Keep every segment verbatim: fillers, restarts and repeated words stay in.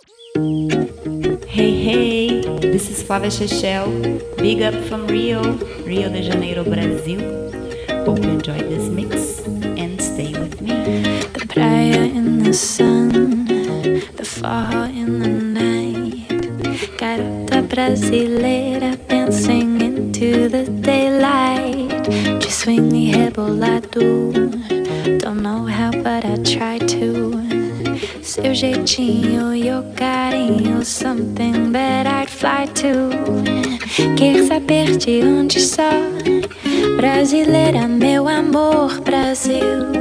Hey, hey, this is Flávia Chechel. Big up from Rio, Rio de Janeiro, Brazil. Hope you enjoy this mix and stay with me. The praia in the sun, the fall in the night. Garota brasileira dancing into the daylight. Just swing me rebolado. Don't know how, but I try to. Seu jeitinho, your carinho, something that I'd fly to. Quer saber de onde sou? Brasileira, meu amor, Brasil.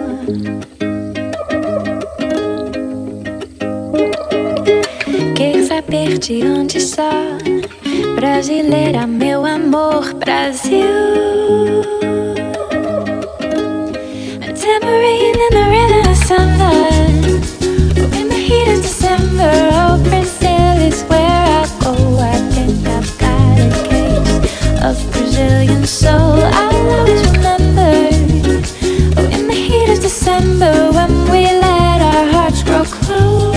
Quer saber de onde sou? Brasileira, meu amor, Brasil. A tambourine in the rhythm of summer. In the heat of December, oh, Brazil is where I go. I think I've got a case of Brazilian soul. I'll always remember. Oh, in the heat of December, when we let our hearts grow cold.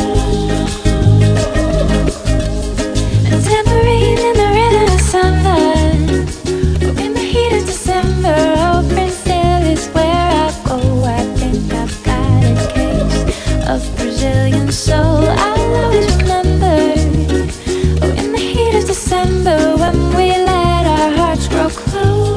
A tambourine in the rhythm of summer. Oh, in the heat of December, oh, Brazil is where I go. I think I've got a case of Brazilian soul. I'll always remember. Oh, in the heat of December, when we let our hearts grow cold.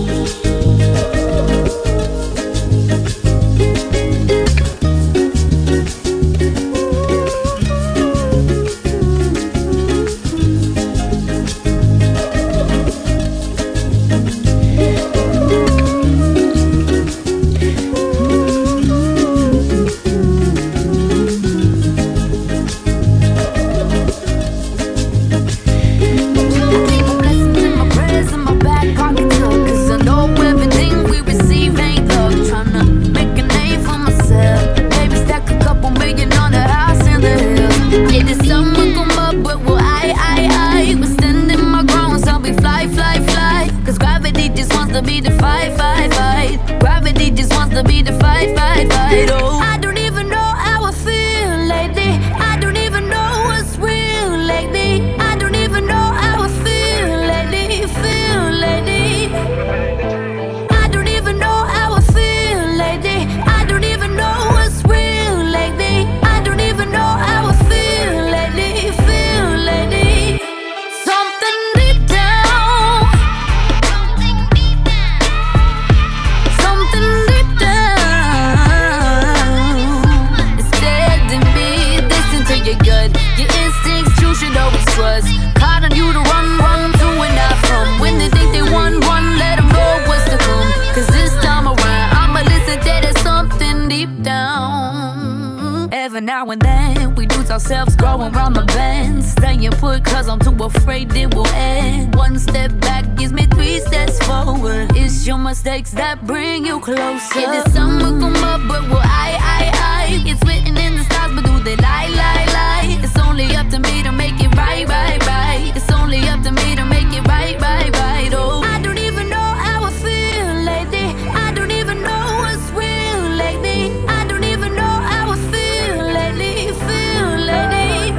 Now and then we lose ourselves growing round the bend. Staying put cause I'm too afraid it will end. One step back gives me three steps forward. It's your mistakes that bring you closer. Yeah, the sun will come up but will I, I, I It's written in the stars but do they lie, lie, lie It's only up to me to make it right, right, right It's only up to me to make it right, right, right Oh, I don't even know how I feel lately. I don't even know what's real lately. I don't even know how I feel lately, feel lately.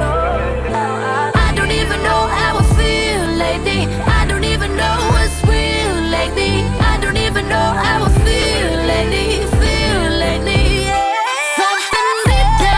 I don't even know how I feel lately. I don't even know what's real lately. I don't even know how I feel lately, feel lately. Yeah. Something deep down.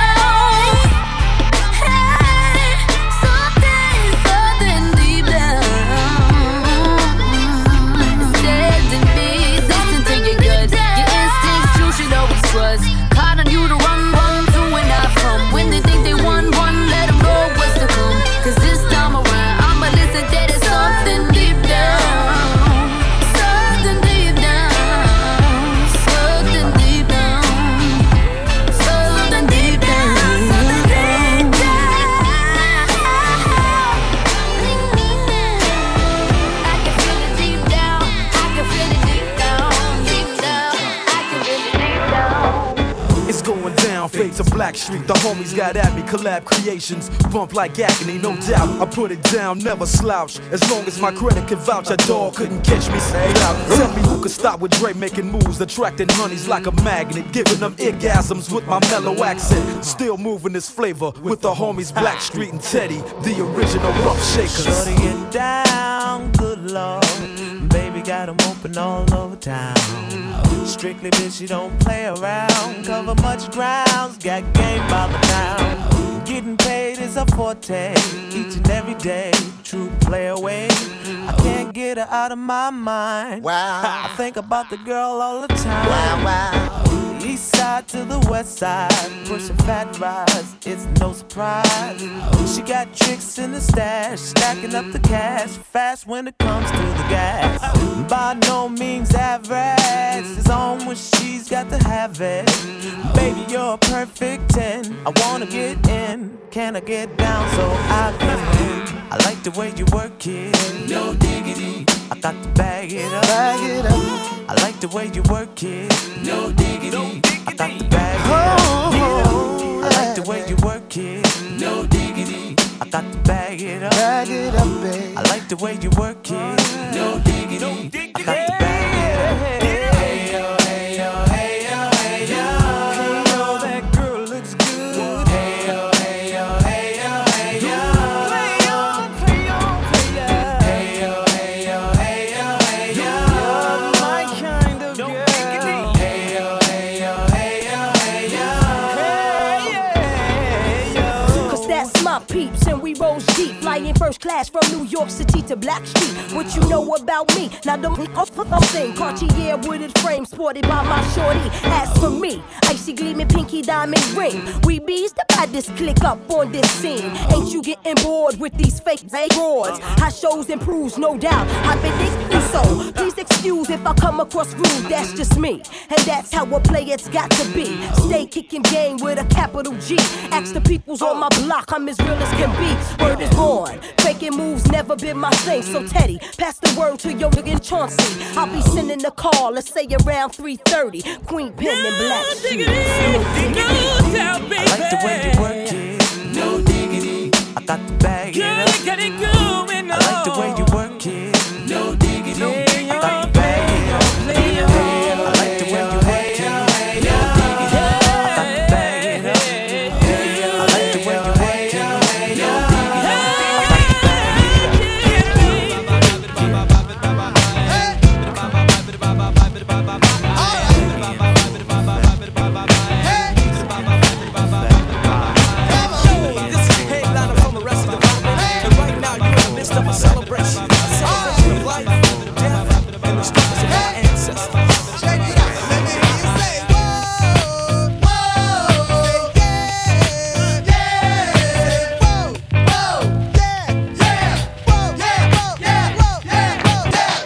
Blackstreet, the homies got at me. Collab creations, bump like agony, no doubt. I put it down, never slouch. As long as my credit can vouch, a dog couldn't catch me. Say out. Tell me who could stop with Dre making moves, attracting honeys like a magnet, giving them orgasms with my mellow accent. Still moving this flavor with the homies Blackstreet and Teddy, the original rough shakers. Shorty get down, good lord. Baby got them open all over town. Strictly bitch, you don't play around. Cover much grounds, got game by the pound. Getting paid is a forte, each and every day. True play away. I can't get her out of my mind. Wow. I think about the girl all the time. Wow, wow. East side to the west side, pushing fat rides, it's no surprise. She got tricks in the stash, stacking up the cash, fast when it comes to the gas. By no means average, it's on when she's got to have it. Baby, you're a perfect ten, I wanna get in. Can I get down so I can win? I like the way you work it, no diggity. I got to bag it up, bag it up. I like the way you work it, no diggity. I got to bag it up, I like the way you work it, no diggity. I got to bag it up, bag it up, babe. I like the way you work it, no diggity. I got to bag it up. Hey yo, hey yo, hey yo, hey yo. Hey yo, that girl looks good. Hey yo, hey yo, hey yo, hey yo. Play on, play on, play on. Hey yo, hey yo, hey yo, hey yo. You're my kind of girl. Hey yo, hey yo, hey yo, hey yo. Hey yo. Cause that's my peeps and we rose deep, flying first class from New York City to Blackstreet. What you know about me? Now don't thing. Cartier wooded frame sported by my shorty. As for me, icy gleaming pinky diamond ring. We bees the baddest click up on this scene. Ain't you getting bored with these fake roars? High shows improves, no doubt. I've been thinking so. Please excuse if I come across rude. That's just me, and that's how a player's got to be. Stay kicking game with a capital G. Ask the peoples on my block, I'm as real as can be. Word is born. Faking moves never been my thing. So Teddy, pass the word to your nigga Chauncey. I'll be sending the call, let's say around three thirty. Queen Pen and Blackstreet. No doubt, baby. I like the way you work it, no diggity. I got to bag it up. Got it going on. I like the way you work it, no diggity. I got to bag it up. I like the way you work it, no diggity. I got to bag it up. I like the way you work it, no diggity. I got to bag of a celebration, a celebration of life, death, and the struggles of our ancestors. Check it out. Let me hear you say, whoa, whoa, yeah, yeah, whoa, whoa, yeah, yeah, whoa, yeah, whoa, yeah, whoa, yeah, whoa, yeah.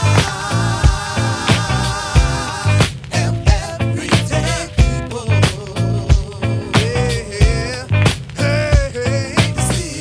I am everyday people. Yeah, hey, hey, see,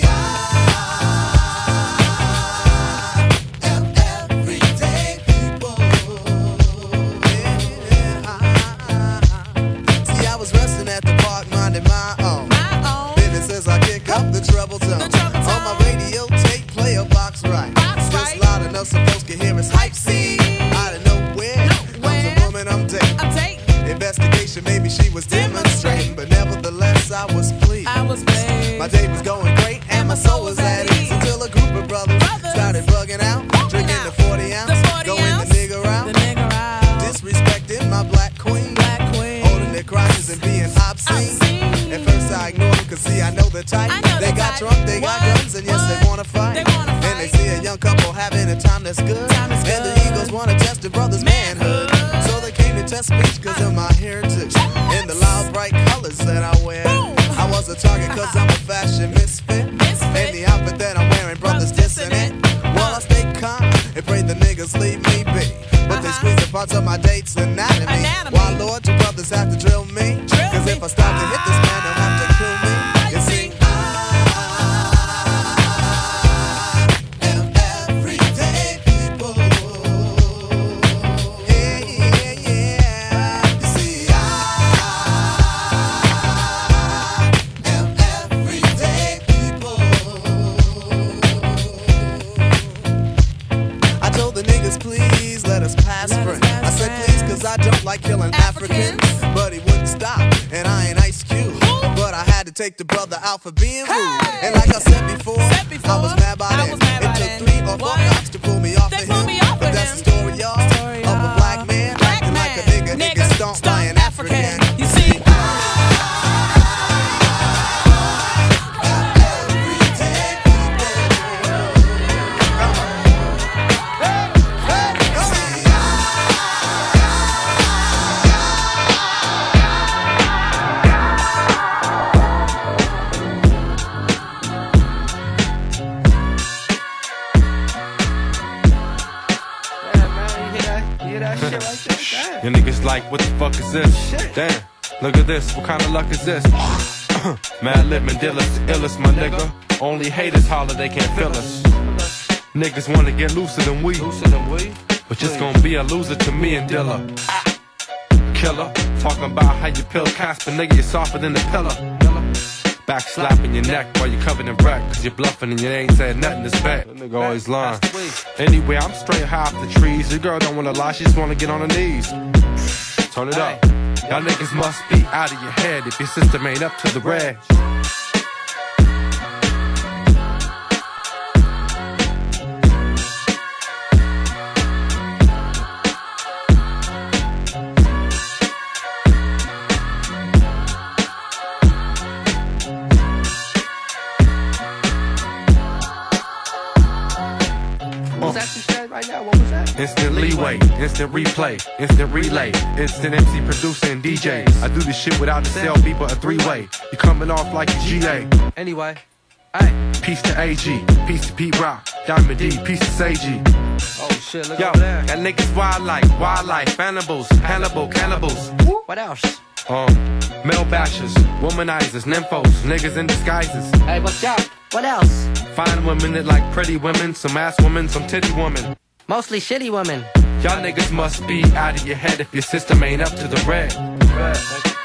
the trouble zone. The trouble zone. On my radio tape, play a box right. Box just right. Loud enough so folks can hear us hype scene. Out of nowhere, nowhere comes a woman I'm dating. I'm dating. Investigation, maybe she was demonstrating, but nevertheless I was pleased. I was pleased. My day was going great and my soul was at ease until a group of brothers, brothers. started bugging out, bugging drinking out. the forty ounce, the forty going ounce. the nigger out, the nigger out, disrespecting my black queen, black queen, holding their crotches and being obscene. obscene. At first I ignored them, cause see I know the type. They got drunk, they got guns, and yes, they wanna fight. They wanna fight. And they see a young couple having a time that's good. Time is and good. The Eagles wanna test the brother's manhood. manhood. So they came to test speech cause of my heritage. And the loud, bright colors that I wear. Boom. I was a target cause I'm a fashion misfit. misfit. And the outfit that I'm wearing, brothers dissing it. While I stay calm and pray the niggas leave me be. But uh-huh. they squeeze the parts of my date's anatomy. anatomy. Why, Lord, you brothers have to drill me? Drill cause me. if I start to hit this man, they'll have to kill me. You see, take the brother out for being rude. Hey! And like I said before, said before I was mad by then. It took three or four cops to pull me off of him. Off but that's him. The story, y'all, story, of a black man black acting man. Like a nigga, nigga, nigga stomp by an African. African. You see? Your niggas like, what the fuck is this? Shit. Damn, look at this, what kind of luck is this? Mad Lip Mandela's the illest, my nigga. Only haters holler, they can't feel us. Niggas wanna get looser than we, looser than we. But just gonna be a loser to me and Dilla. Killer, talking about how you pill Casper, nigga, you're softer than the pillar. Back slapping your neck while you're covered in wreck, cause you're bluffing and you ain't said nothing this back. That nigga always lying. Anyway, I'm straight high off the trees. Your girl don't wanna lie, she just wanna get on her knees. Turn it up. Y'all niggas must be out of your head if your system ain't up to the red. Instant leeway, instant replay, instant relay, instant M C producer and D Js. I do this shit without the cell B, but a three-way. You coming off like a G A. Anyway, hey. Peace to A G, peace to Pete Rock, Diamond D, peace to Say G. Oh shit, look Yo, over there. That niggas wildlife, wildlife, animals, Hannibal, cannibals. What else? Um, male bashers, womanizers, nymphos, niggas in disguises. Hey, what's up? What else? Fine women that like pretty women, some ass women, some titty women. Mostly shitty women. Y'all niggas must be out of your head if your system ain't up to the red. red.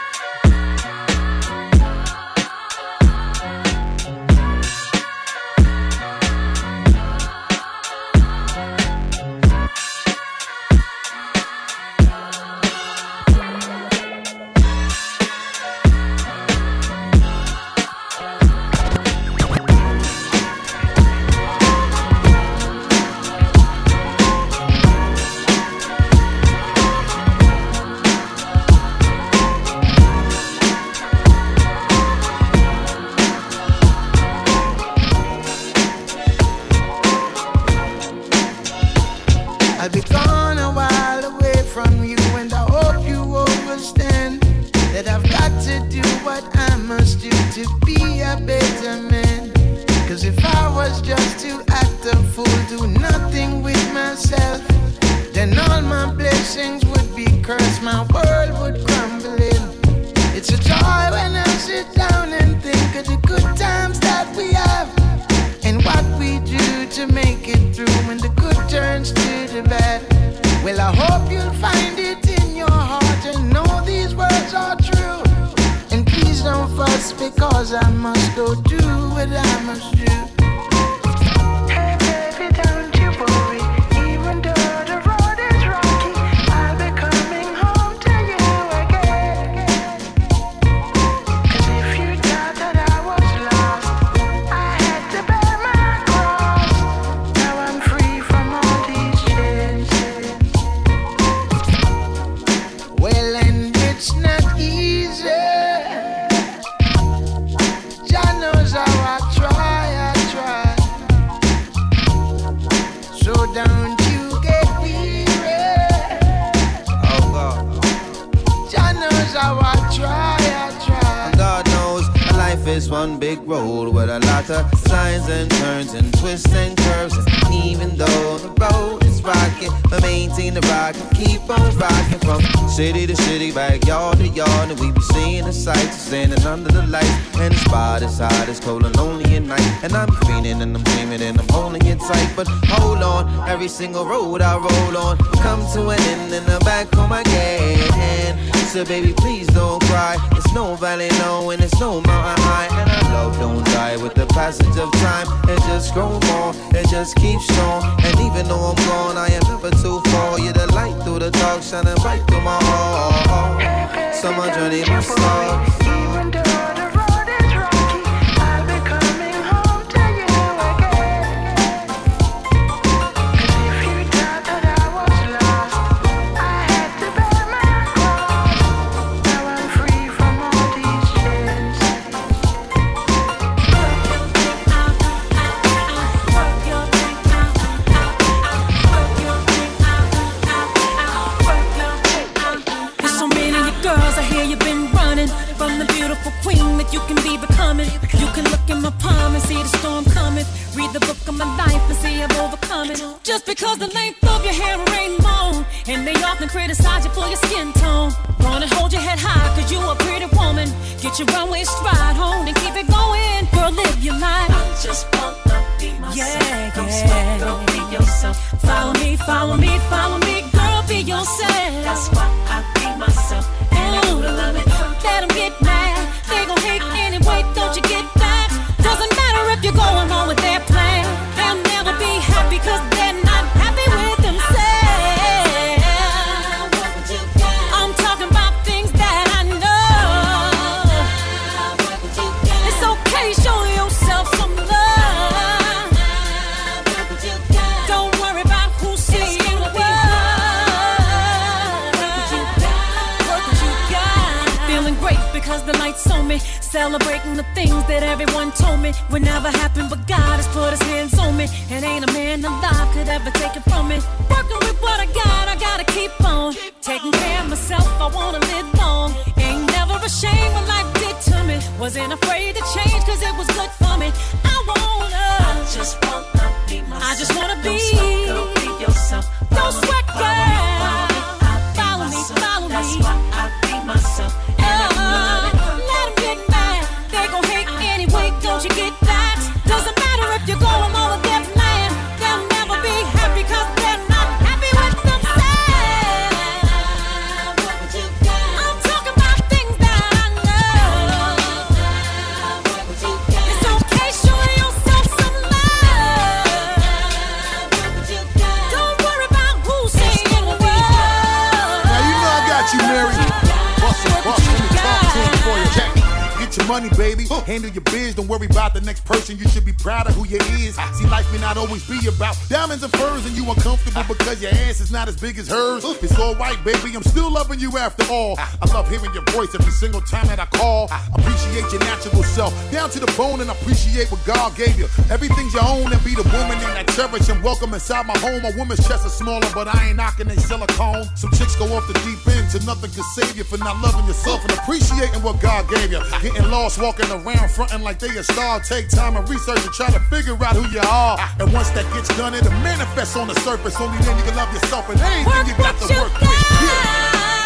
City to city, backyard to yard, and we be seeing the sights, standing under the lights, and the spot is hot, it's cold and lonely at night, and I'm feeling and I'm dreaming and I'm holding it tight, but hold on, every single road I roll on, come to an end in the back of my gate, so baby please don't cry, it's no valley low and it's no mountain high, and our love don't die with the passage of time, it just grows more, it just keeps strong, and even though I'm gone, I am never too far, you're the light through the dark, shining bright through my heart. So my journey must start. Even though the road is rough, just because the length of your hair ain't long. And they often criticize you for your skin tone. Wanna hold your head high cause you a pretty woman. Get your runway stride home and keep it going. Girl, live your life. I just wanna be myself. Yeah, don't yeah. sweat, girl, be yourself. Follow me, follow me, follow me. Girl, be yourself. That's why I be myself. And I know to love it. Let them get mad. They gon' hate anyway, don't you get that? Doesn't matter if you're going along with their plan. They'll never be happy cause they're not happy with themselves. I'm talking about things that I know. It's okay, show yourself some love. Don't worry about who's seeing what. Work what you got. Feeling great because the lights on me. Celebrating the things that everyone told me would never happen, but God has put his hands on me. And ain't a man alive could ever take it from me. Working with what I got, I gotta keep on. Taking care of myself, I wanna live long. Ain't never ashamed what life did to me. Wasn't afraid to change cause it was good for me. I wanna I just wanna be myself. I just wanna be, girl, be yourself. Don't sweat, girl. Follow me, follow me. That's why I be myself. Don't you get that? Doesn't matter if you're going on with their plan. They'll never be happy cause they're not happy with themselves. I'm talking about things that I know. It's okay, show yourself some love. Don't worry about who's saying what. Now you know I got you, Mary. Bust it, bust it, let me talk to him for you, Jack. Your money, baby. Handle your biz. Don't worry about the next person. You should be proud of who you is. See, life may not always be about diamonds and furs, and you uncomfortable because your ass is not as big as hers. It's all right, baby. I'm still loving you after all. I love hearing your voice every single time that I call. Appreciate your natural self down to the bone, and appreciate what God gave you. Everything's your own, and be the woman that I cherish and welcome inside my home. A woman's chest is smaller, but I ain't knocking they silicone. Some chicks go off the deep end to nothing can save you for not loving yourself and appreciating what God gave you. Getting lost, walking around, fronting like they a star. Take time and research and try to figure out who you are. And once that gets done, it'll manifest on the surface. Only then you can love yourself and anything you got to work with. Yeah.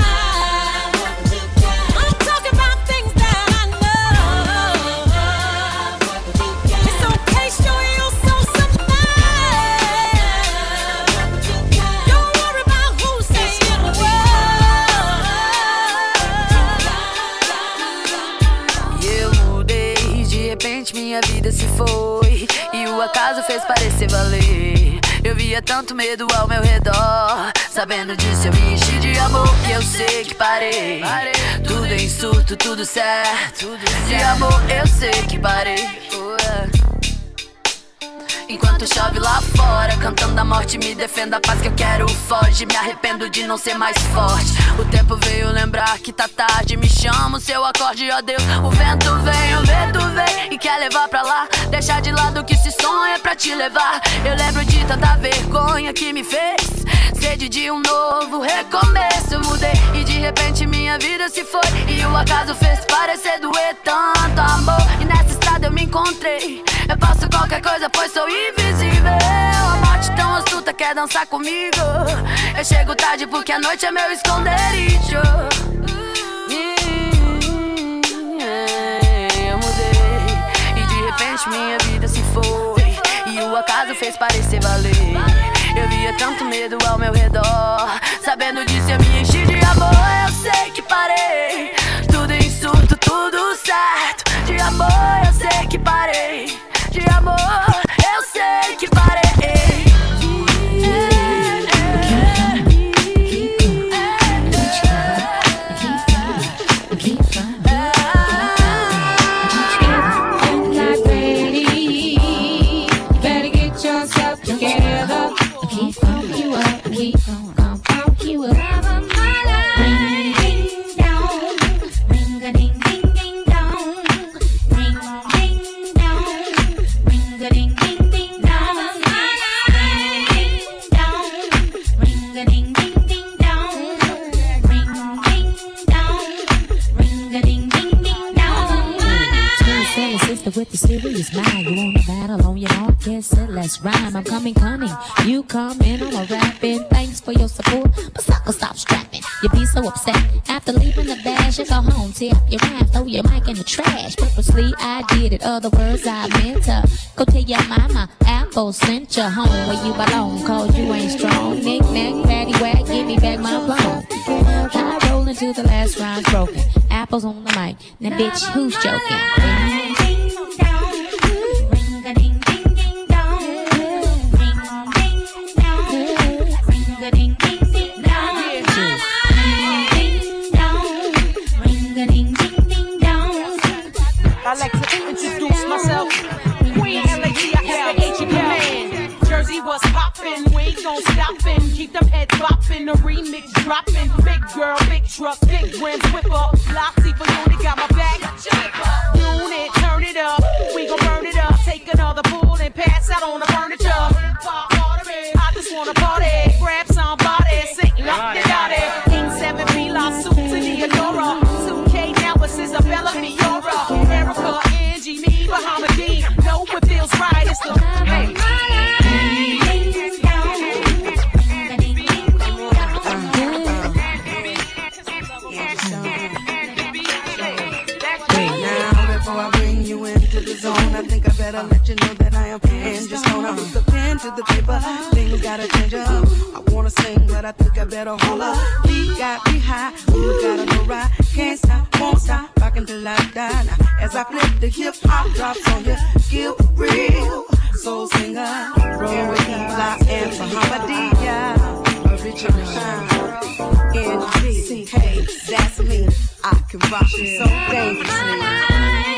Minha vida se foi e o acaso fez parecer valer. Eu via tanto medo ao meu redor. Sabendo disso eu me enchi de amor. E eu sei que parei, tudo em surto, tudo certo. De amor eu sei que parei. Enquanto chove lá fora, cantando a morte, me defenda a paz que eu quero, foge. Me arrependo de não ser mais forte. O tempo veio lembrar que tá tarde. Me chama o seu acorde, ó Deus. O vento vem, o vento vem e quer levar pra lá. Deixar de lado o que se sonha pra te levar. Eu lembro de tanta vergonha que me fez sede de um novo recomeço. Eu mudei e de repente minha vida se foi. E o acaso fez parecer doer tanto amor. E nessa estrada eu me encontrei. Eu faço qualquer coisa pois sou invisível. A morte tão astuta quer dançar comigo. Eu chego tarde porque a noite é meu esconderijo. Eu mudei e de repente minha vida se foi. E o acaso fez parecer valer. Eu via tanto medo ao meu redor. Sabendo disso eu me enchi de amor. Eu sei que parei, tudo em surto, tudo certo. De amor eu sei que parei. De amor eu sei que parei. Ring, ding, dong, ring a ding, ding, ding, dong. Ring, is mine. You wanna battle on your own? Guess it, let's rhyme. I'm coming, coming. You come in, I'm a rapping. Thanks for your support, but sucker, stop strapping. You be so upset after leaving the bash. You go home, tear up your rhyme, throw your mic in the trash. Purposely, I did it. Other words, I meant to go tell your mama. Apple sent you home where you belong. Cause you ain't strong. Knick knack, patty whack, give me back my plum. I roll into the last rhyme's broken. Apples on the mic. Now, bitch, who's joking? I'd like to introduce myself. Queen L A T I S H man. Jersey was poppin', we ain't gon' stoppin'. Keep them heads boppin', the remix droppin'. Big girl, big truck, big rims, whip up. Loxy for unit, got my back. Unit, turn it up, we gon' burn it up. Take another pull and pass out on the furniture. I just wanna party, grab somebody, sing up the dotty. King seven P, La Suit to Theodora. two K now, it's Isabella Miura. Erica, Angie, me, Bahamadean. Know what feels right, it's the hey. I think I better let you know that I am in. Just gonna put the pen to the paper. Things gotta change up. I wanna sing, but I think I better hold up. We got me high, we gotta go right. Can't stop, won't stop, rockin' till I die. Now, as I flip the hip hop drops on you, skill real. Soul singer, roll with E-Block and Bahamadia. Original sound, N G, hey, that's me. I can rock you so dangerously.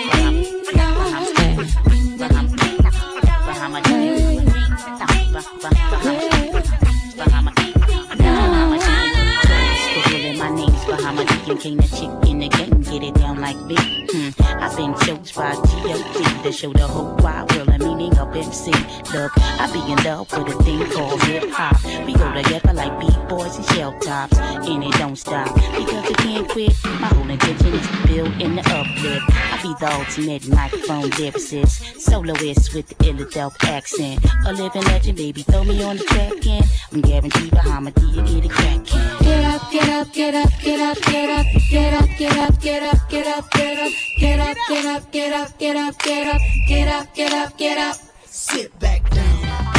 King the chick in the game, get it down like me. Hmm. I've been chose by G O T to show the whole wide world the meaning of M C. Look, I be in love with a thing called hip hop. We go together like B-boys and shell tops, and it don't stop because it can't quit. My whole intention is to build in the uplift. I be the ultimate microphone lyricist, soloist with the Philadelphia accent. A living legend, baby, throw me on the track and I'm guaranteed Bahamadia get it crackin'. Get up, get up, get up, get up, get up, get up, get up, get up, get up, get up, get up, get up, get up, get up, get up, get up, get up, get up. Sit back down.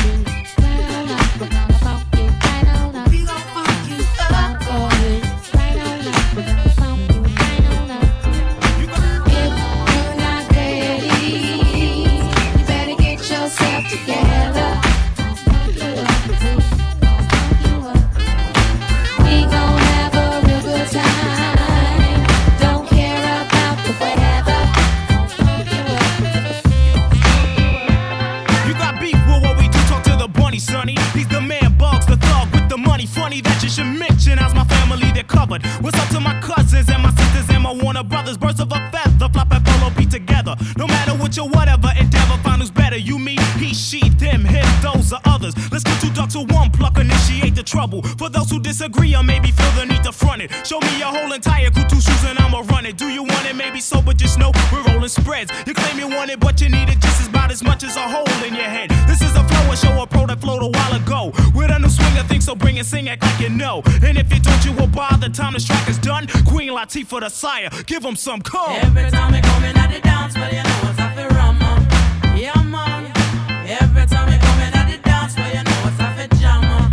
What's up to my cousins and my sisters and my Warner brothers? Birds of a feather, flop and follow, be together. No matter what your whatever endeavor, find who's better. You, me, he, she, them, him, those are others. Let's get two ducks with one pluck, initiate the trouble. For those who disagree or maybe feel the need to front it, show me your whole entire crew, two shoes and I'ma run it. Do you want it? Maybe so, but just know we're rolling spreads. You claim you want it, but you need it just about as much as a hole in your head. This is a flow, a show, a pro that flowed a while ago. With a new swing of things, so bring it, sing, act like you know. And if you don't, you will bother. Time this track is done. Queen Latifah the sire, give them some call. Every time I come in at the dance, well, you know it's a rum, man. Yeah, man. Every time I come in at the dance, well, you know it's a jam, man.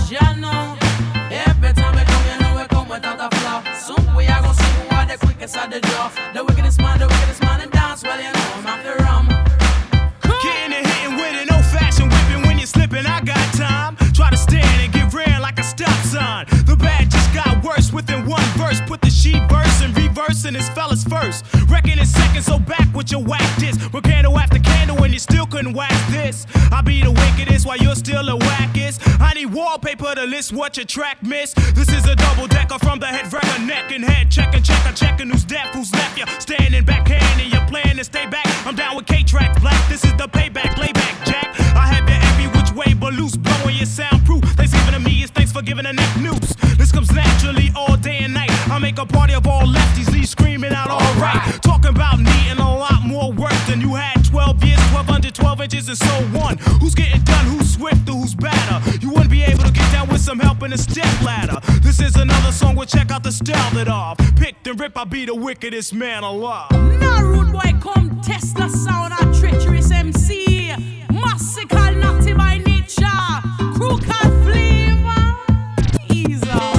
Jam, every time I come, you know we come without a flaw. Soon we are gonna see who are the quickest at the draw. The wickedest man, the wickedest man in dance, well, you know I'm at the rum. Getting and hitting with an old-fashioned whipping when you're slipping. I got time. Try to stand and get ran like a stop sign. The bad just got worse within one verse. Put the she verse and reverse in this fella's first. Reckon in seconds, so back with your whack disc. With candle after candle and you still couldn't wax this. I be the wickedest while you're still the wackest. I need wallpaper to list what your track missed. This is a double decker from the head wrecker, neck and head. Checking, checker, checking who's deaf, who's left you. Standing back hand and you're playing to stay back. I'm down with K-Track Black. This is the payback, layback, Jack. I have you every which way but loose, blowing your soundproof. Thanksgiving to me is thanks for giving a neck noose. This comes naturally all day and night. I make a party of all lefties, leave screaming out alright. Talking about needing a lot more work than you had twelve years inches and so on. Who's getting done, who's swift, or who's better? You wouldn't be able to get down with some help in a step ladder. This is another song, we'll check out the style that I've picked and rip. I'll be the wickedest man alive. Now rude boy come test the sound of treacherous M C. Massical, naughty by nature. Crew called Flavor. Ease up.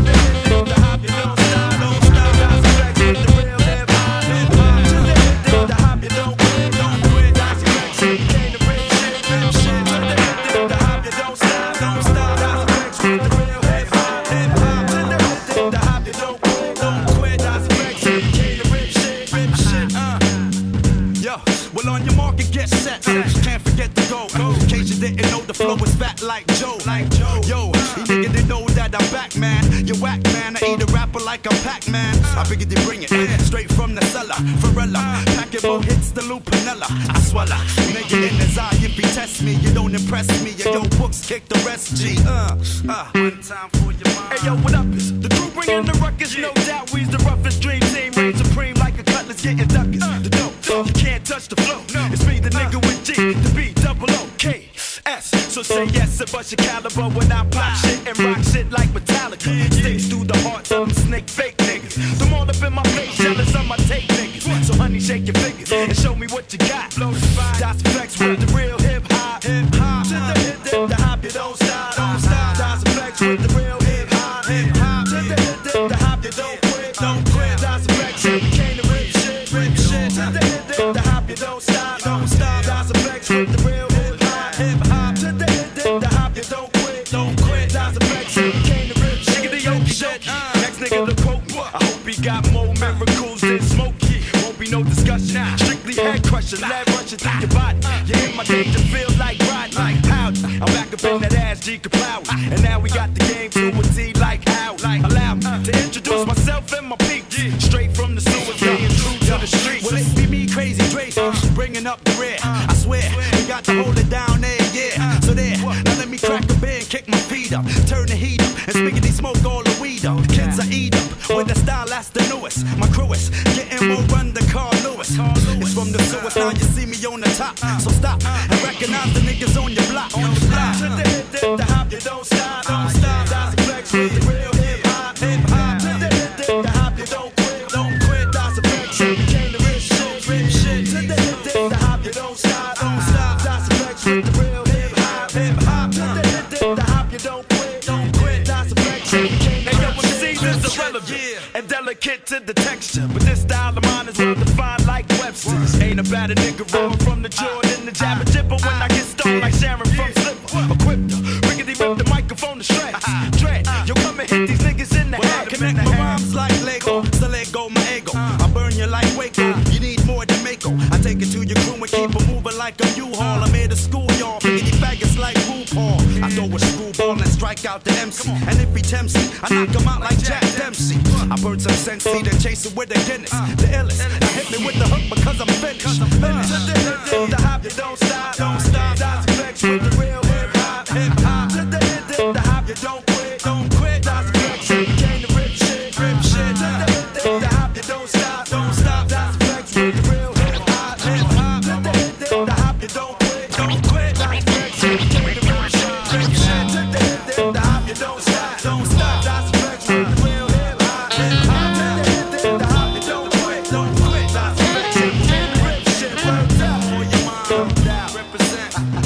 Can't forget the go. In case you didn't know, the flow is fat like Joe. Like Joe. Yo, you niggas didn't know that I'm back, man. You whack, man. I eat a rapper like a Pac-Man. I figured they bring it straight from the cellar. Varela, packing more hits than Lupinella. I swallow, nigga in his eye. If he test me, you don't impress me. Yo, yo, books kick the rest. G. Uh, uh. One time for your mind. Hey, yo, what up? Is the crew bringing the ruckus? No doubt, we's the roughest dream team. Reign supreme like a cutlass, getting duckers. The dope, you can't touch the flow. It's me, the nigga with G, the B, double O, K, S. So say yes and bust your caliber when I pop shit and rock shit like Metallica. Sticks through the hearts of them snake fake niggas. Them all up in my face, jealous of my tape niggas. So honey, shake your fingers and show me what you got. Das Flex with the real hip hop. Hip hop. To the hip hip, the hop, you don't stop. Don't stop. Das Flex with the real hip hop. Hip hop. To the hip hip, the hop, you don't quit. Don't quit. Das Flex, you came to rip shit, rip shit. To the hip hip, the hop, you don't stop. Don't stop. Das Flex with the real hip hop. Hip hop. To the hip hip, the hop, you don't quit. Don't quit. Das Flex, you came to rip shit. Nigga, the yoke shit. Next nigga to quote. I hope he got more miracles than Smokey. Won't be no discussion. Strictly head crushing, lead rushing through your body. You in my danger, feel like riding. Like Howdy. I'm back up in that ass, G Kapow. And now we got the game to a T like how. Allow me to introduce myself and my peak. Straight from the sewers, staying true to the streets. Well, it be me, Crazy Dre, bringing up the rear. I swear, we got to hold it down there, yeah. So there, now let me crack a beer and kick my feet up. Turn the heat up, and spiggity smoke all the weed up. Kids I eat up, with the style that's the newest. My crew is getting more run than Carl Lewis. It's from the sewers, now you see me on the top. So stop and recognize the niggas on your block. On the block. To the hip, dip, the hop, you don't stop. Don't stop. Das Flex with the real hip hop. Hip hop. To the hip, dip, the hop, you don't quit. Don't quit. Das Flex, you came to rip shit, rip shit. To the hip, dip, the hop, you don't stop. Don't stop. Das Flex with the real hip hop. Hip hop. To the hip, dip, the hop, you don't quit. Don't quit. Das Flex, you came to rip shit. Hey, yo, when seasons irrelevant and delicate to the texture, but this style of mine is well defined like Webster's. Ain't about a nigga rolling from the Jordan, the jabber jibber when I get stoned like Sharon from Slipper. Equipped her, rickety rip the microphone to shreds. Dread, yo, come and hit these niggas in the head. Connect my rhymes like Lego, so let go my ego. I burn you like Waco, you need more than Mako. I take it to your crew and keep it moving like a U-Haul. I'm here to school y'all, rickety faggots like RuPaul. I throw a screwball and strike out the M C. And if he tempts me, I knock him out like Jack Dempsey. I burn some Sensi, then chase it with a Guinness. The illest, now hit me with the hook because I'm finished. Finished. The hop, you don't stop, don't stop. Das Flex with the real hip hop, hip hop. To the hip, dip, the hop, you don't quit, don't quit. Das Flex, you came to rip shit, rip shit. To the hip, dip, the hop, you don't stop, don't stop. Das Flex with the real hip hop, hip hop. To the hip, dip, the hop, you don't quit, don't quit. Das Flex, you came to rip shit, rip shit. To the hip, dip, the hop, you don't stop, don't stop. Das Flex with the real hip hop, hip hop. To the hip, dip, the hop, you don't quit, don't quit. Das Flex, you came to rip shit, worked out for your mom, out, represent.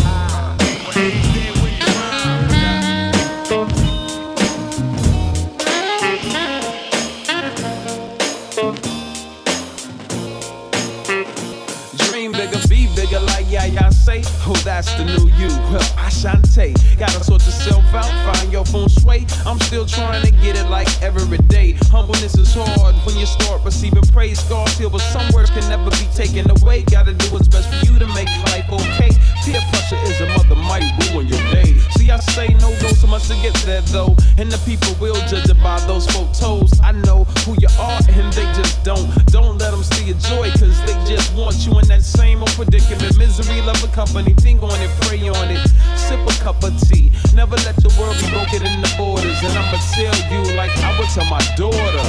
Dream bigger, be bigger like yeah, yeah, say. Oh, that's the new you. Well, Ashante. Gotta sort yourself out, find your feng shui. I'm still trying to get it like every day. Humbleness is hard when you start receiving praise. Scars heal, but some words can never be taken away. Gotta do what's best for you to make life okay. Peer pressure is a mother, might ruin your day. See, I say no go so much to get there though. And the people will judge it by those photos. I know who you are and they just don't. Don't let them see your joy, cause they just want you in that same old predicament. Misery, love a company, think on it, pray on it. Sip a cup of tea. Never let the world be broken in the borders. And I'ma tell you like I would tell my daughter.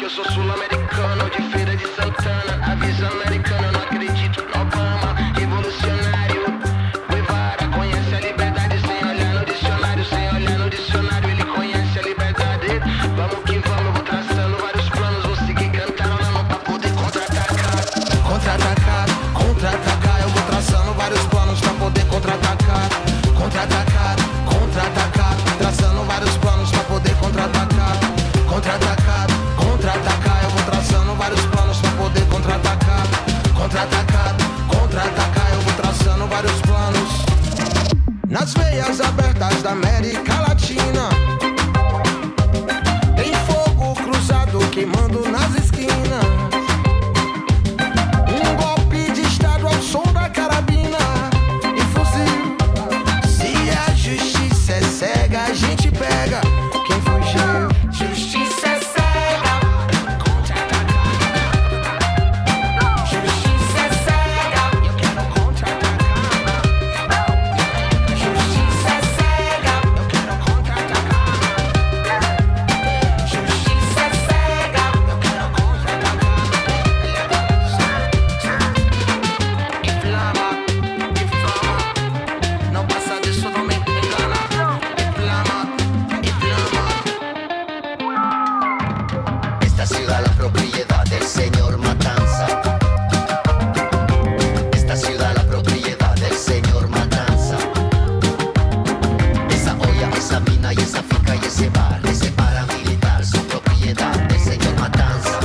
Eu sou sul-americano, de Feira de Santana. Avisa americano, eu não acredito no Obama. Revolucionário, Guevara conhece a liberdade sem olhar no dicionário. Sem olhar no dicionário, ele conhece a liberdade. Vamos que vamos, eu vou traçando vários planos. Vou seguir cantando na mão pra poder contra-atacar. Contra-atacar, contra-atacar. Eu vou traçando vários planos pra poder contra-atacar. Contra-atacar, contra-atacar. Traçando vários planos pra poder contra-atacar. Contra-atacar, contra-atacar. Eu vou traçando vários planos pra poder contra-atacar. Contra-atacar, contra-atacar. Eu vou traçando vários planos. Nas veias abertas da América Latina tem fogo cruzado queimando nas esquinas. Um golpe de estado ao som da carabina e fuzil. Se a justiça é cega, a gente pega quem fugiu. Justiça é cega. Justiça é cega. Eu quero contra-atacar. Justiça é cega. Eu quero contra-atacar. Justiça é cega. Eu quero contra-atacar. Inflama, inflama. Não passa disso, não me engana. Inflama, inflama. Esta ciudad la propiedad del señor Matanza. Esta ciudad la propiedad del señor Matanza. Esa olla, esa mina y esa finca y ese bar, ese paramilitar son propiedad del señor Matanza.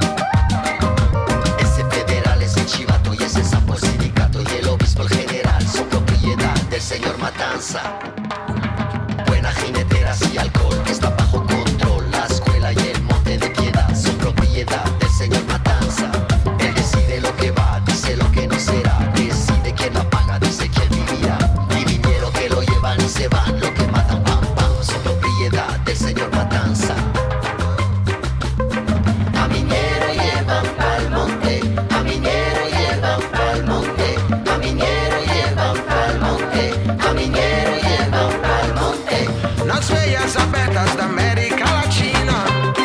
Ese federal, ese chivato y ese sapo sindicato y el obispo el general son propiedad del señor Matanza. Buena jineteras y alcohol que está bajo control. La escuela y el monte de piedad son propiedad del señor Matanza. Él decide lo que va, dice lo que no será. Decide quién la paga, dice quién vivirá. Y vinieron que lo llevan y se van. Lo que matan, pam, pam, son propiedad del señor Matanza. A minero llevan pa'l monte, a minero llevan pa'l monte, a minero llevan pa'l monte, a minero llevan pa'l monte. Nas veias abertas da América Latina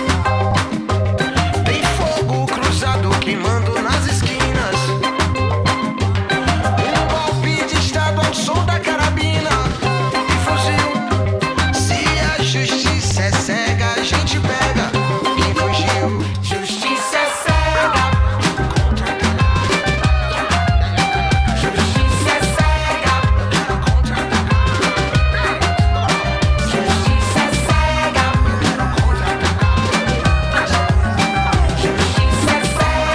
tem fogo cruzado queimando nas esquinas. Um golpe de estado ao som da carabina e fuzil. Se a justiça é cega, a gente pega quem fugiu. Justiça é cega. Justiça é cega. Justiça é cega. Justiça é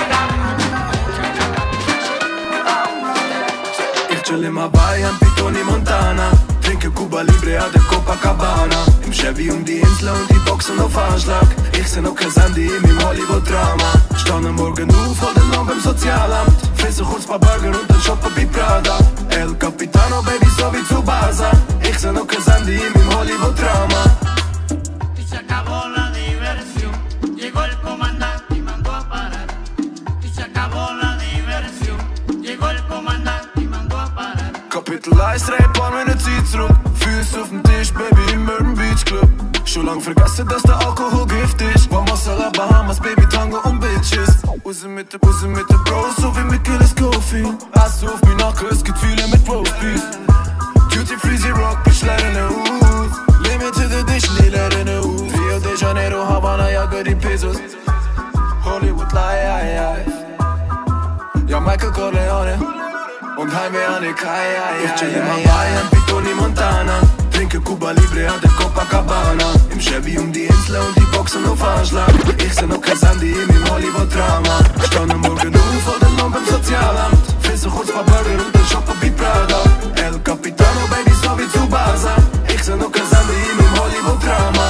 cega. Ich chill im Hawaii am Pitoni Montana. Trinke Cuba Libre an der Copacabana. Im Chevy um die Insel und die Boxen auf Anschlag. Ich seh noch kein Sandy in meinem Hollywood-Drama. Stand am Morgen auf, hol den Lohn beim Sozialamt. Fresse kurz paar Burger und dann shoppen bei Prada. El Capitano, Baby, so wie zu Baza. Ich seh noch kein Sandy in meinem Hollywood-Drama. Y se acabó la diversión. Llegó el comandante y mandó a parar. Y se acabó la diversión. Llegó el comandante y mandó a parar. Kapitel eins, drei paar Minuten Zeit zurück. Füße auf dem Tisch, Baby, im Urban Beach Club. Schon lang vergessen, dass der Alkohol Gift ist. Vamos a la Bahamas, Baby, Tango und Bitches. Raus mit der, raus mit der Bros, so wie mit Gilles Coffee. Ass auf mein Nacken, es gibt viele mit Roastbeef. Duty Free, sie Rock, bitch, leere aus. Limited Edition, die leere aus. Rio de Janeiro, Havana, jagen die Pesos. Hollywood, lie, lie, lie. Ja, Michael Corleone. Und Heimweh an der Kai, ich chill im Hawaii am Pitoni Montana. Trinke Cuba Libre an der Copacabana. Im Chevy um die Insel und die Boxen auf Anschlag. Ich seh noch kein Sandy in meinem Hollywood-Drama. Stand am Morgen auf, hol den Lohn beim Sozialamt. Fresse kurz paar Burger und dann shoppen bei Prada. El Capitano, Baby, so wie zu Baza. Ich seh noch kein Sandy in meinem Hollywood-Drama.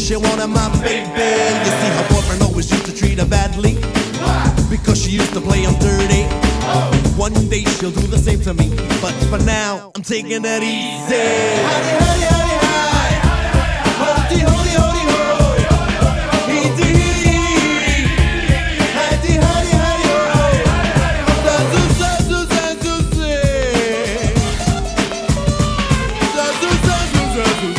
she wanted my baby. You see, her boyfriend always used to treat her badly because she used to play him dirty. One day she'll do the same to me, but for now I'm taking it easy. Honey, honey, honey, honey, holy, holy, holy, holy, easy, honey, honey, honey, zazu, zazu, zazu, zazu, zazu, zazu.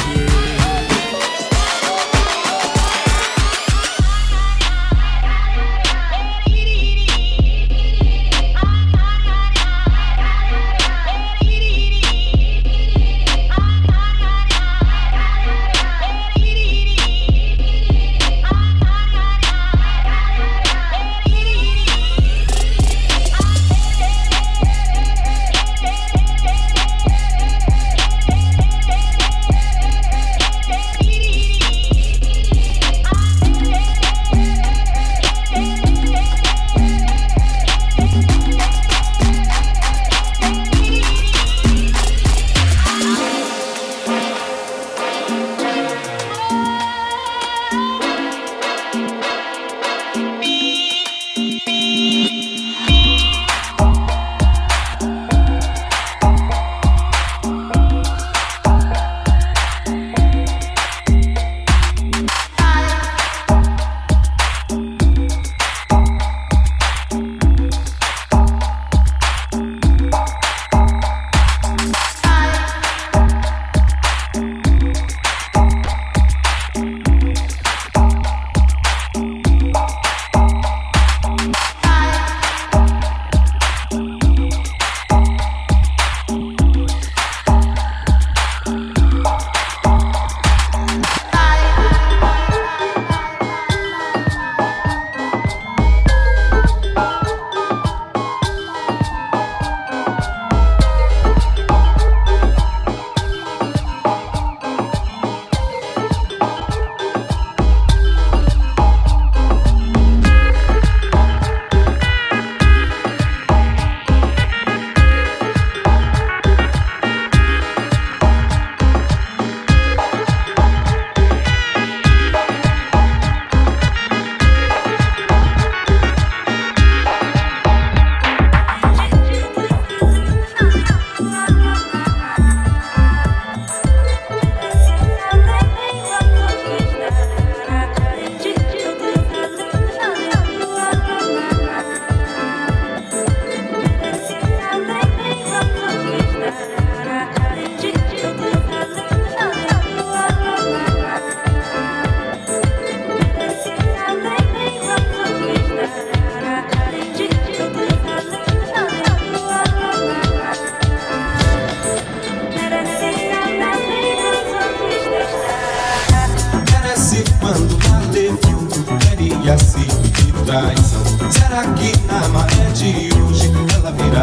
Será que na maré de hoje ela virá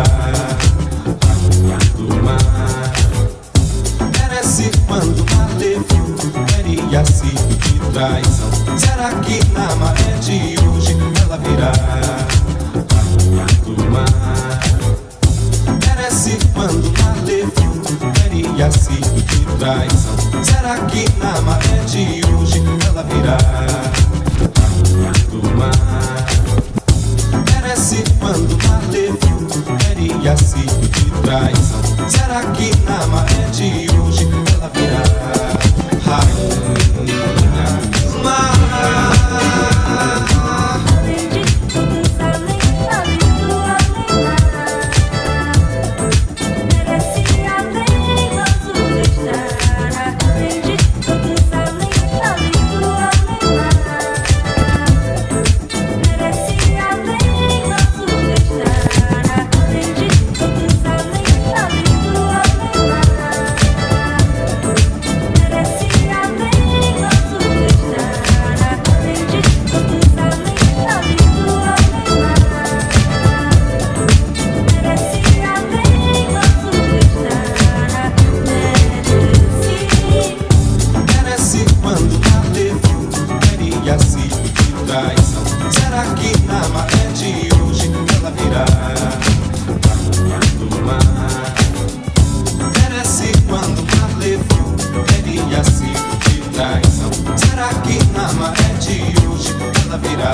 do mar? Merece quando bater queria se de traição. Será que na maré de hoje ela virá do mar? Merece quando bater queria se de traição. Será que na maré de hoje ela virá do mar? Merece quando bater queria se de traição. Será que na maré de hoje ela virá rainha mar? Além de tudo, além, além do além. Será que na maré de hoje ela virá?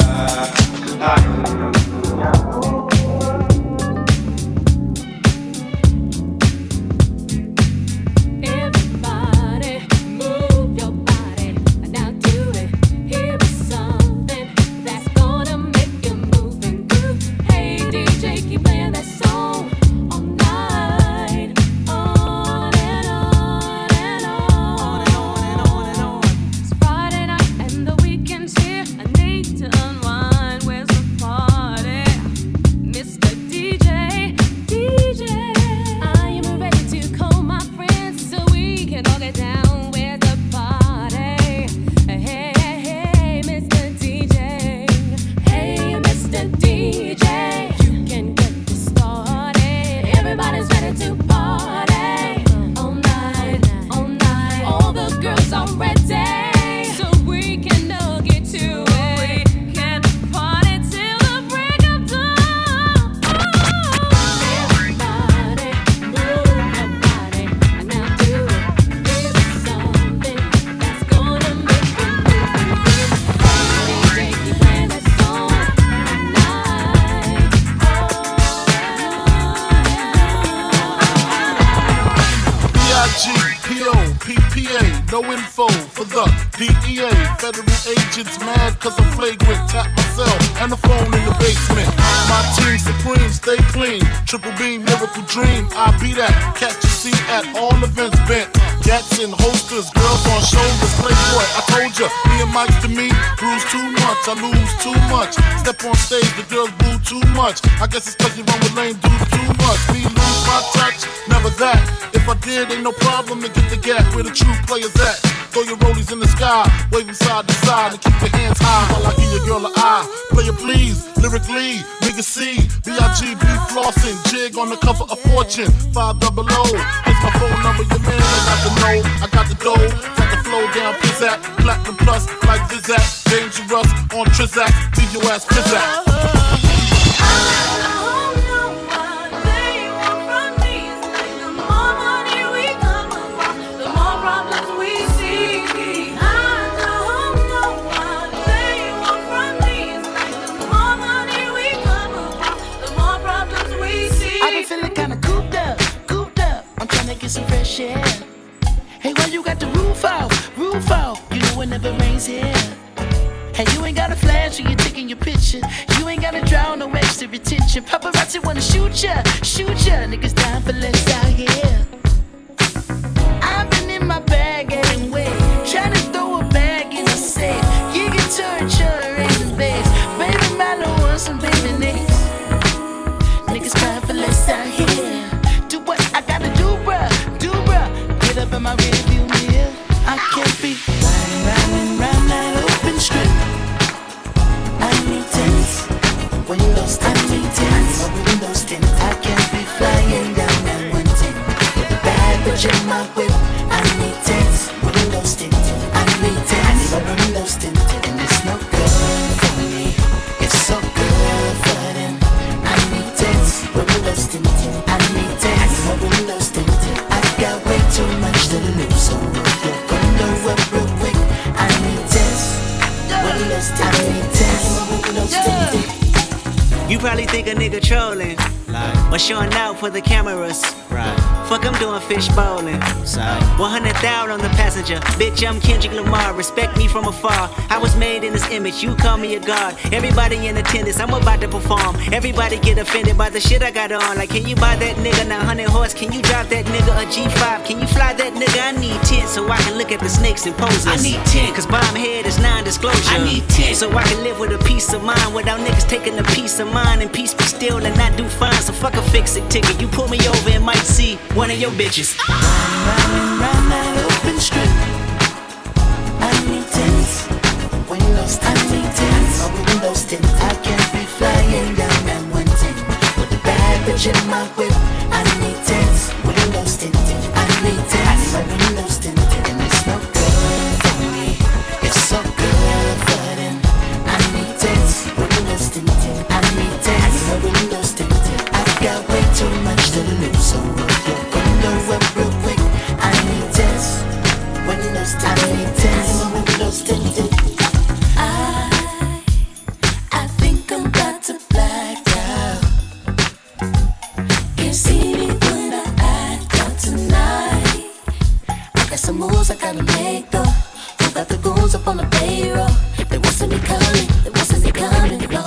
No info for the D E A. Federal agents mad cause I'm flagrant. Tap myself and the phone in the basement. My team supreme, stay clean. Triple beam, miracle dream. I be that. Catch a seat at all events bent. Gats and holsters, girls on shoulders. Playboy, I told ya, me and Mike to me. Bruise too much, I lose too much. Step on stage, the girls boo too much. I guess it's cause you run with lame dudes too much. Me lose my touch, never that. If I did, ain't no problem to get the gap where the true players at. Throw your rollies in the sky, wave them side to side, and keep your hands high while I give your girl an eye. Player please, lyrically, nigga C, B I G B flossing, jig on the cover of Fortune, five double O. Here's my phone number, your man, I got the know, I got the dough, got the flow down, pizzazz, platinum plus, like Zizak, dangerous on Trizak, leave your ass pizzazz. Get some fresh air. Hey, why you got the roof out? Roof out. You know it never rains here. Hey, you ain't got a flash when you're taking your picture. You ain't gotta draw no extra attention. Paparazzi wanna shoot ya, shoot ya. Niggas dying for less out here. I've been in my bag anyway, trying to throw a bag in the safe. You can turn your in base. Baby, my little wants some baby names. Niggas crying for less out here. Do what I gotta do, bruh, do bruh. Get up in my rearview mirror. I can't be riding, riding round that open strip. I need tents, windows tint, I need tents, windows tint. I can't be flying down that one tent with a bad bitch in my whip. I need tents, windows tint. I need tents, windows tint, and it's no good for me. It's so good for them. I need tents, windows tint. I need tents, windows tint. I've got way too much to lose, so roll your window up real quick. I need tents, windows tint. I need tents, windows tint. You probably think a nigga trolling, like, or showing out for the cameras. Right. Fuck, I'm doing fish bowling. one hundred thousand on the passenger. Bitch, I'm Kendrick Lamar. Respect me from afar. I was made in this image. You call me a god. Everybody in attendance. I'm about to perform. Everybody get offended by the shit I got on. Like, can you buy that nigga nine hundred horse? Can you drop that nigga a G five? Can you fly that nigga? I need ten so I can look at the snakes and poses. I need ten cause bomb head is non-disclosure. I need ten so I can live with a peace of mind without niggas taking a piece of mine and peace be still and not do fine. So fuck a fix-it ticket. You pull me over and might see one of your bitches. Riding round that open strip. I need tents, windows tint. I need tents, windows tint. I can't be flying down that one tent with a bad bitch in my whip. I need tents, windows tint. I need tents, windows tint, and it's no good for me. It's so good for them. I need tents, windows tint. I need tents, windows tint. I've got way too much to lose, so roll your window up real quick. I need tents, windows tint. I need tents, windows trust in you. I, I think I'm about to black out. Can't see me when I act out tonight. I got some moves I gotta make though. Who got the goons up on the payroll? They wasn't me coming, they wasn't me coming, no.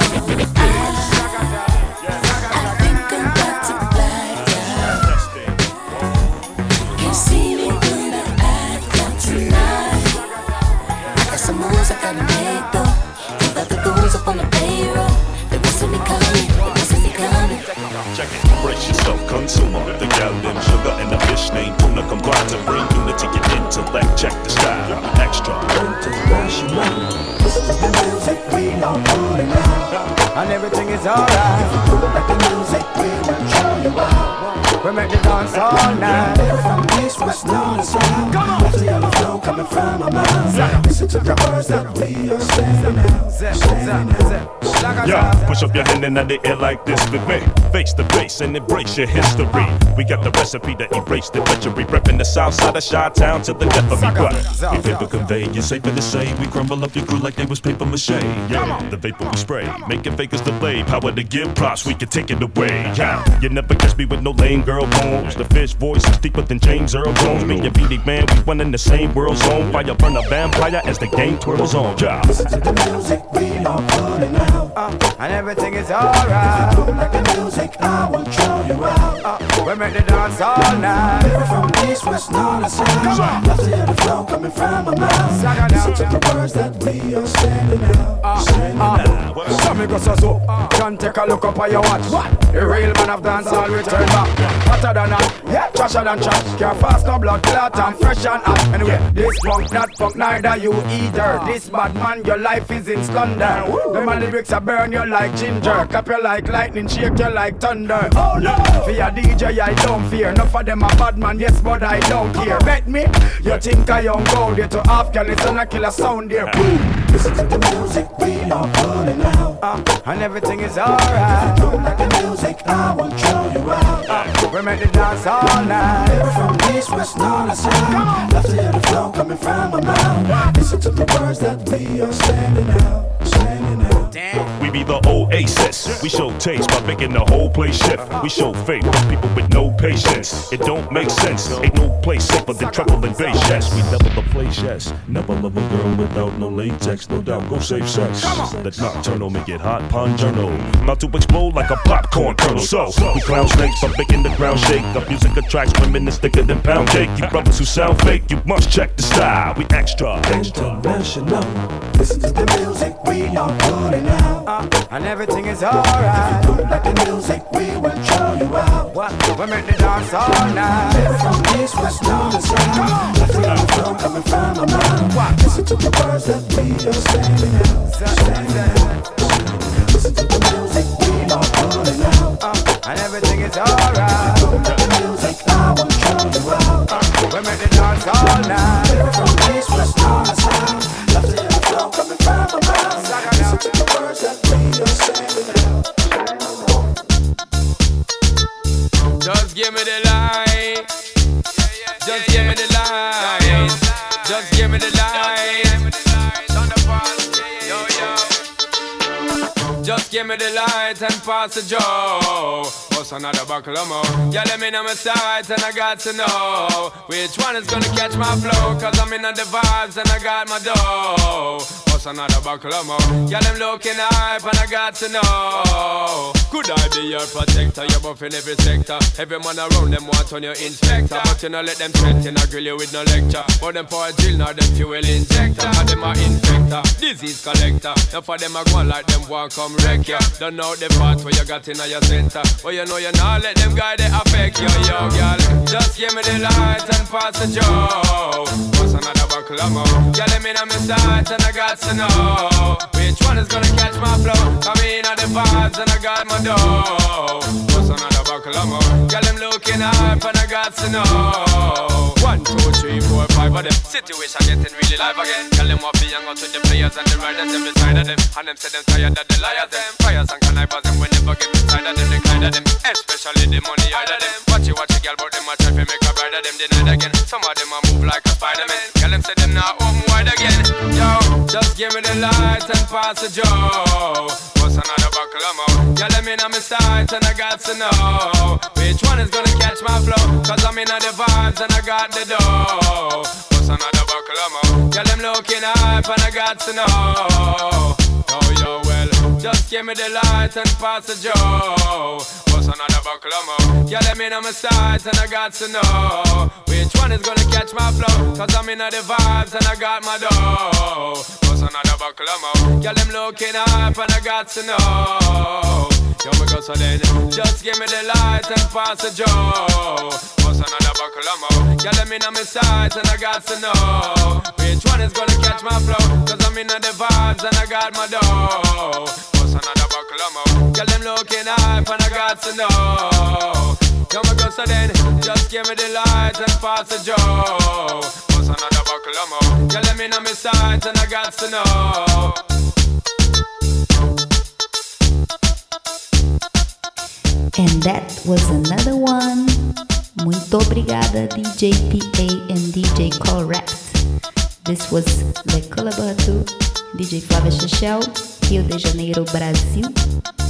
Check it, brace yourself, consumer. The gal named Sugar and the fish named Tuna combine to bring unity and intellect. Check the style, extra. International. This is the music we are pulling out, and everything is alright. If you do like the music, we will show you out. We make the dance all night. From east, west, north, and south. Left the yellow flow coming from our mouth. Listen to the words that we are saying now. Saying now. Yeah, push up your hand in the air like this with me. Face the bass and embrace your history. We got the recipe to erase the treachery. Reppin' the south side of Chi-Town till the death of me. What? We paper convey, it's safer to say. We crumble up your crew like they was paper mache. Yeah, the vapor we spray, making fakers delay. Power to give props, we can take it away. Yeah, you never catch me with no lame girl poems. The fish voice is deeper than James Earl Jones. Me and Beanie Man, we one in the same world zone. Fire burn a vampire as the game twirls on. Yeah. Listen to the music, we are pulling out. Uh, and everything is alright. If you do like the music, I will show you out. Uh, we make the dance all night. From east, west, north, and south. Left to hear the flow coming from my mouth. Listen to the words that we are sending out. Uh, sending uh, out. So me go so so. Uh, John, take a look up on your watch. What? The real man of dance all return back. Hotter than hot, yeah, trasher than trash. Can't fast no blood clot and fresh and hot. Anyway, this punk not punk, neither you either. This bad man, your life is in splendor. Them and lyrics are burn you like ginger. Cap you like lightning, shake you like thunder. Oh no! For your D J, I don't fear. Enough of them a bad man, yes, but I don't care. Bet me, you think I young gold here to Afghanistan, I kill a sound there. Listen to the music, we are pulling out. Uh, and everything is alright. If you do like the music, I will show you out. Uh, we make the dance all night. From east, west, north, and south. Left to hear the flow coming from my mouth. Listen to the words that we are sending out, sending out. We be the Oasis. We show taste by making the whole place shift. We show faith for people with no patience. It don't make sense. Ain't no place safer than treble and bass. Yes, we never the place. Yes, never love a girl without no latex. No doubt, go save sex. That nocturnal make it hot. Pon journal, about to explode like a popcorn kernel. So we clown snakes by making the ground shake. Our music attracts women that's thicker than pound cake. You brothers who sound fake, you must check the style. We extra, international. Listen to the music, we are pulling out. Uh, and everything is alright. If you do like the music, we will show you out. What? We make the dance all night. From east, west, north, and south. Left to hear the flow coming from my mouth. Listen to the words that we are sending out, sending out. Listen to the music, we are pulling out. Uh, and everything is alright. If you do like the music, I will show you out. Uh, we make the dance all night. From east, west, north, and south. Left to hear the flow coming from my mouth. Listen to the words that we are sending out. Just give me the light. Just give me the light. Just give me the light. Just give me the light and pass the joe. What's another buckle of more? Yeah, let me know my sights and I got to know which one is gonna catch my flow. Cause I'm in the vibes and I got my dough. What's another buckle of more? Yeah, them looking hype and I got to know. Could I be your protector? You're buff in every sector. Every man around them want on your inspector. But you know let them threaten, I grill you with no lecture. But them for a drill, now them fuel injector. And them are infector, disease collector. Now for them I go like them want come wreck ya. Don't know the part where you got in your center. But you know you not let them guys they affect you, yo, girl. Just give me the light and pass the joe. What's another buckle of more? Yeah, let me know my sights and I got to know which one is gonna catch my flow. Come in at the vibes and I got my dough. What's another buckle of more? Yeah, them looking hype and I got to know. One, two, three, four, five of them. Situation getting really live again. Tell them what be young out with the players and the riders them beside of them. And them say them tired of the liars them. Fires and connivers them we never get inside of them. They kind of them, especially the money out of them. Watch you watch a girl but them a try to make a bride of them denied again. Some of them a move like a Spider-Man. Tell them say them not home wide again. Yo. Just give me the light and pass the Joe. What's another buckle of more? Yeah, let me know my sight and I got to know which one is gonna catch my flow. Cause I'm in the vibes and I got the dough. What's another buckle of more? Yeah, them looking hype and I got to know. Oh, yo, well, just give me the light and pass the Joe. What's another buckle of more? Yeah, let me know my sight and I got to know which one is gonna catch my flow. Cause I'm in the vibes and I got my dough. What's another buckle of more? Yeah, them looking hype and I got to know. Yo, me go so then, just give me the light and pass the Joe. What's another buckle of more? Yeah, let me know my sight and I got to know which one is gonna catch my flow. Cause I'm in the vibes and I got my dough. What's another buckle of more? Yeah, them looking hype and I got to know. Yo, me go so then, just give me the light and pass the Joe. What's another buckle of more? Yeah, let me know my sight and I got to know. And that was another one. Muito obrigada, D J P A and D J Correct. This was Le Colaboratu, D J Flávia Chechel, Rio de Janeiro, Brasil.